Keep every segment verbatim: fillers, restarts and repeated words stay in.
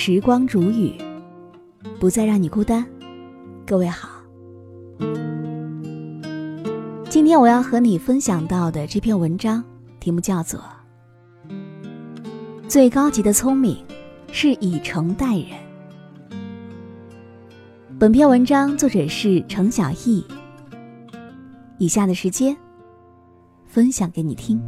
时光煮雨，不再让你孤单。各位好，今天我要和你分享到的这篇文章题目叫做最高级的聪明是以诚待人。本篇文章作者是程小艺，以下的时间分享给你听。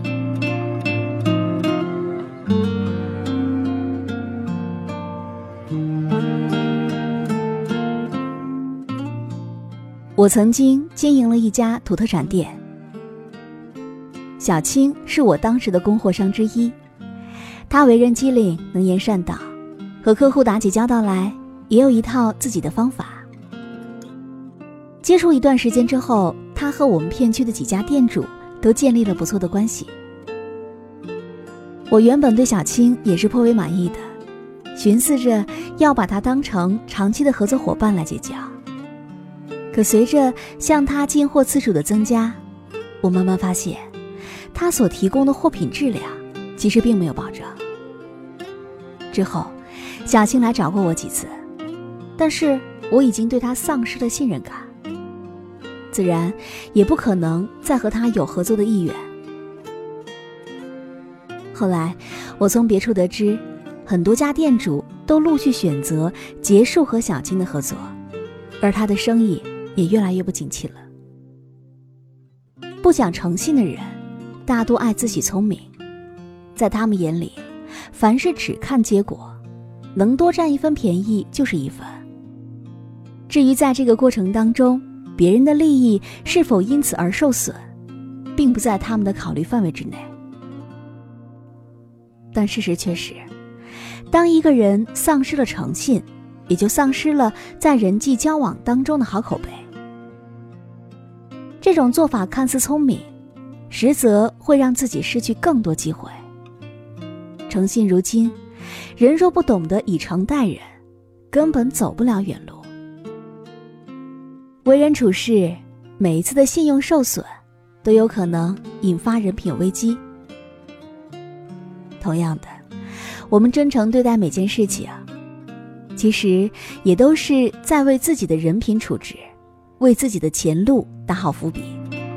我曾经经营了一家土特产店，小青是我当时的供货商之一。她为人机灵，能言善道，和客户打起交道来也有一套自己的方法。接触一段时间之后，她和我们片区的几家店主都建立了不错的关系。我原本对小青也是颇为满意的，寻思着要把她当成长期的合作伙伴来结交。可随着向他进货次数的增加，我慢慢发现他所提供的货品质量其实并没有保证。之后小青来找过我几次，但是我已经对他丧失了信任感，自然也不可能再和他有合作的意愿。后来我从别处得知，很多家店主都陆续选择结束和小青的合作，而他的生意也越来越不景气了。不讲诚信的人大多爱自诩聪明，在他们眼里凡事只看结果，能多占一分便宜就是一分。至于在这个过程当中别人的利益是否因此而受损，并不在他们的考虑范围之内。但事实却是，当一个人丧失了诚信，也就丧失了在人际交往当中的好口碑。这种做法看似聪明，实则会让自己失去更多机会。诚信如金，人若不懂得以诚待人，根本走不了远路。为人处事，每一次的信用受损，都有可能引发人品危机。同样的，我们真诚对待每件事情，其实也都是在为自己的人品处置，为自己的前路打好伏笔。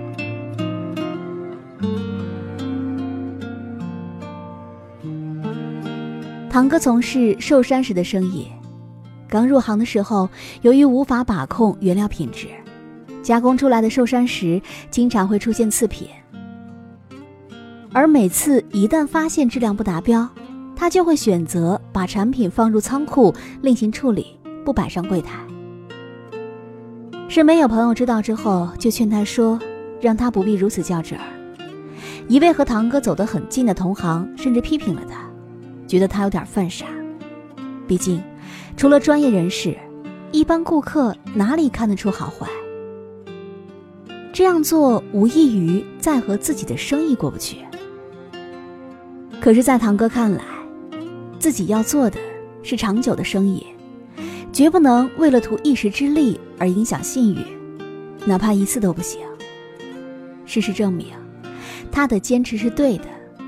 堂哥从事寿山石的生意，刚入行的时候，由于无法把控原料品质，加工出来的寿山石经常会出现次品。而每次一旦发现质量不达标，他就会选择把产品放入仓库另行处理，不摆上柜台。身边有朋友知道之后，就劝他说，让他不必如此较真儿。一位和堂哥走得很近的同行甚至批评了他，觉得他有点犯傻。毕竟除了专业人士，一般顾客哪里看得出好坏？这样做无异于在和自己的生意过不去。可是在堂哥看来，自己要做的是长久的生意，绝不能为了图一时之利而影响信誉，哪怕一次都不行。事实证明，他的坚持是对的。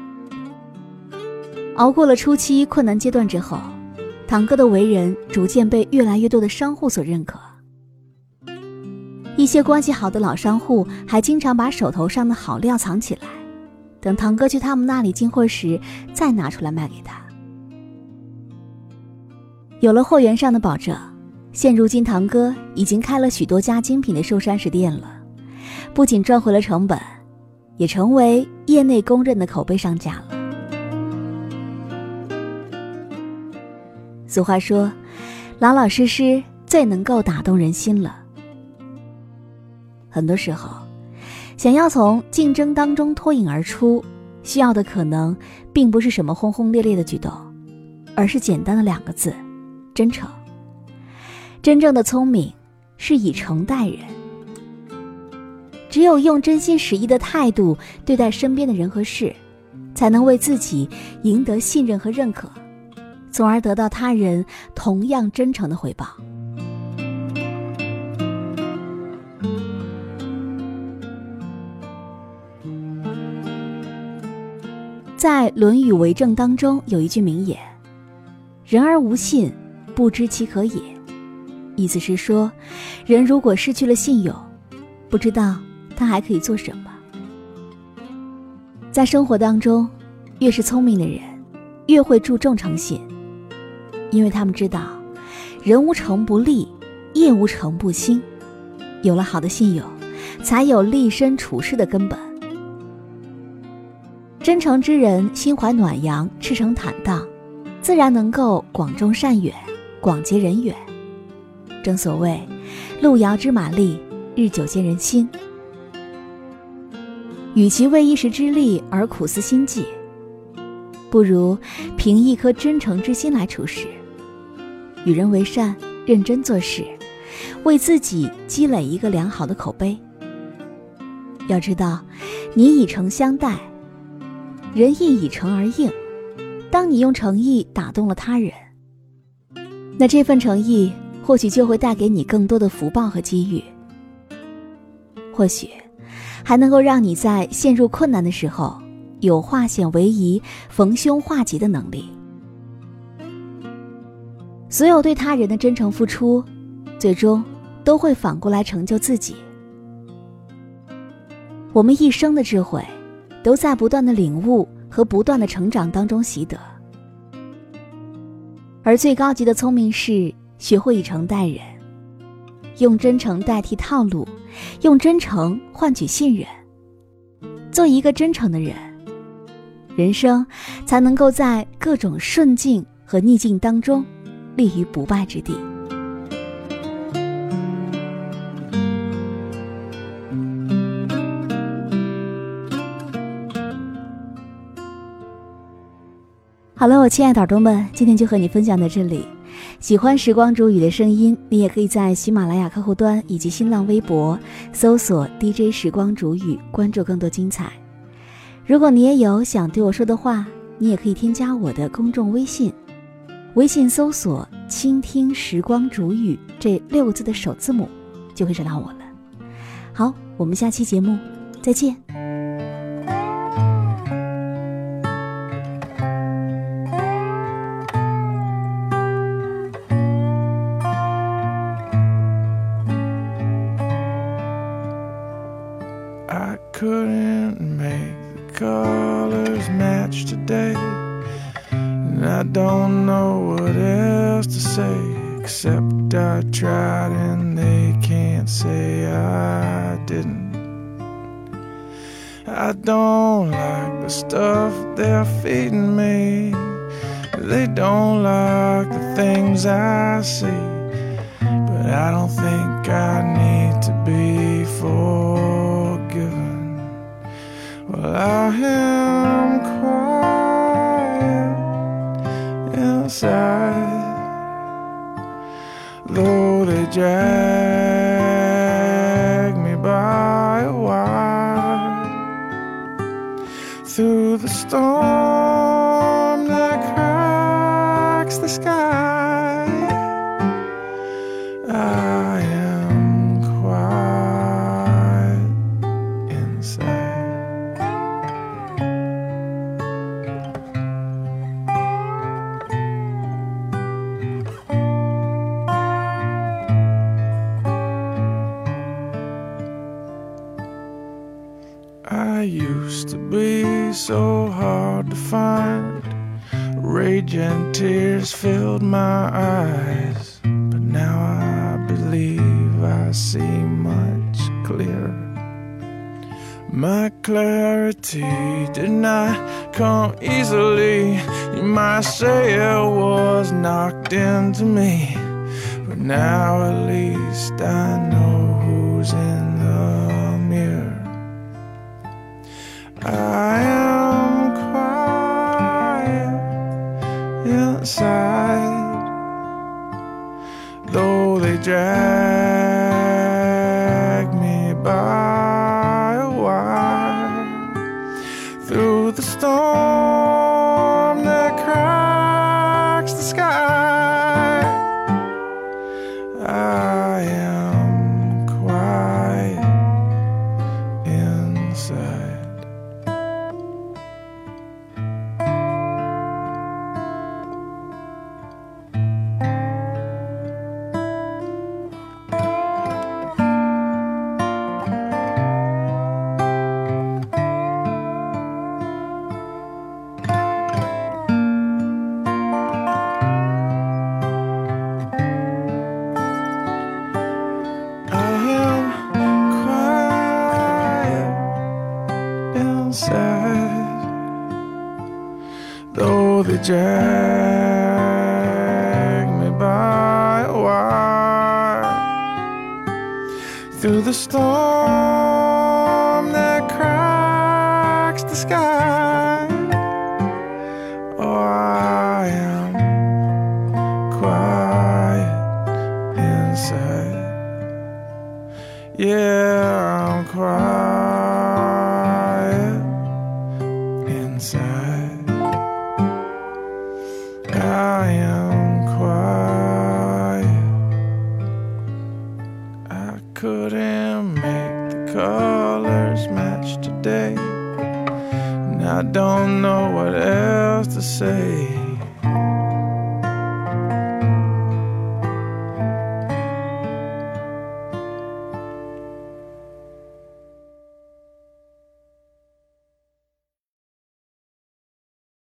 熬过了初期困难阶段之后，堂哥的为人逐渐被越来越多的商户所认可。一些关系好的老商户还经常把手头上的好料藏起来，等堂哥去他们那里进货时再拿出来卖给他。有了货源上的保证，现如今堂哥已经开了许多家精品的寿山石店了，不仅赚回了成本，也成为业内公认的口碑商家了。俗话说，老老实实最能够打动人心了。很多时候，想要从竞争当中脱颖而出，需要的可能并不是什么轰轰烈烈的举动，而是简单的两个字：真诚。真正的聪明是以诚待人，只有用真心实意的态度对待身边的人和事，才能为自己赢得信任和认可，从而得到他人同样真诚的回报。在《论语为政》当中有一句名言： 人而无信，不知其可也。意思是说，人如果失去了信用，不知道他还可以做什么。在生活当中，越是聪明的人，越会注重诚信，因为他们知道，人无诚不立，业无诚不兴。有了好的信用，才有立身处世的根本。真诚之人，心怀暖阳，赤诚坦荡，自然能够广种善缘，广结人缘。正所谓路遥知马力，日久见人心。与其为一时之利而苦思心计，不如凭一颗真诚之心来处事，与人为善，认真做事，为自己积累一个良好的口碑。要知道，你以诚相待，人亦以诚而应。当你用诚意打动了他人，那这份诚意或许就会带给你更多的福报和机遇，或许还能够让你在陷入困难的时候有化险为夷、逢凶化吉的能力。所有对他人的真诚付出，最终都会反过来成就自己。我们一生的智慧，都在不断的领悟和不断的成长当中习得。而最高级的聪明是学会以诚待人，用真诚代替套路，用真诚换取信任。做一个真诚的人，人生才能够在各种顺境和逆境当中立于不败之地。好了，我亲爱的耳朵们，今天就和你分享到这里。喜欢时光煮雨的声音，你也可以在喜马拉雅客户端以及新浪微博搜索 D J 时光煮雨，关注更多精彩。如果你也有想对我说的话，你也可以添加我的公众微信，微信搜索倾听时光煮雨这六个字的首字母，就会找到我了。好，我们下期节目再见。 I couldn't make the colors match today, and I don't know what else to say, except I tried and they can't say I didn't. I don't like the stuff they're feeding me, they don't like the things I see, but I don't think I need to be forgiven. Well, I am quiet inside, though they drag me by a wire through the storm that cracks the sky. I am quiet inside. I used to be so hard to find, rage and tears filled my eyes, but now I believe I see much clearer. My clarity did not come easily, you might say it was knocked into me, but now at least I know who's in the mirror. I am quiet inside, though they drag me by a wire through the storm that cracks the sky. I am quiet inside. drag me by a wire through the storm that cracks the sky. Oh, I am quiet inside. Yeah, I'm quiet inside. I am quiet. I couldn't make the colors match today, and I don't know what else to say.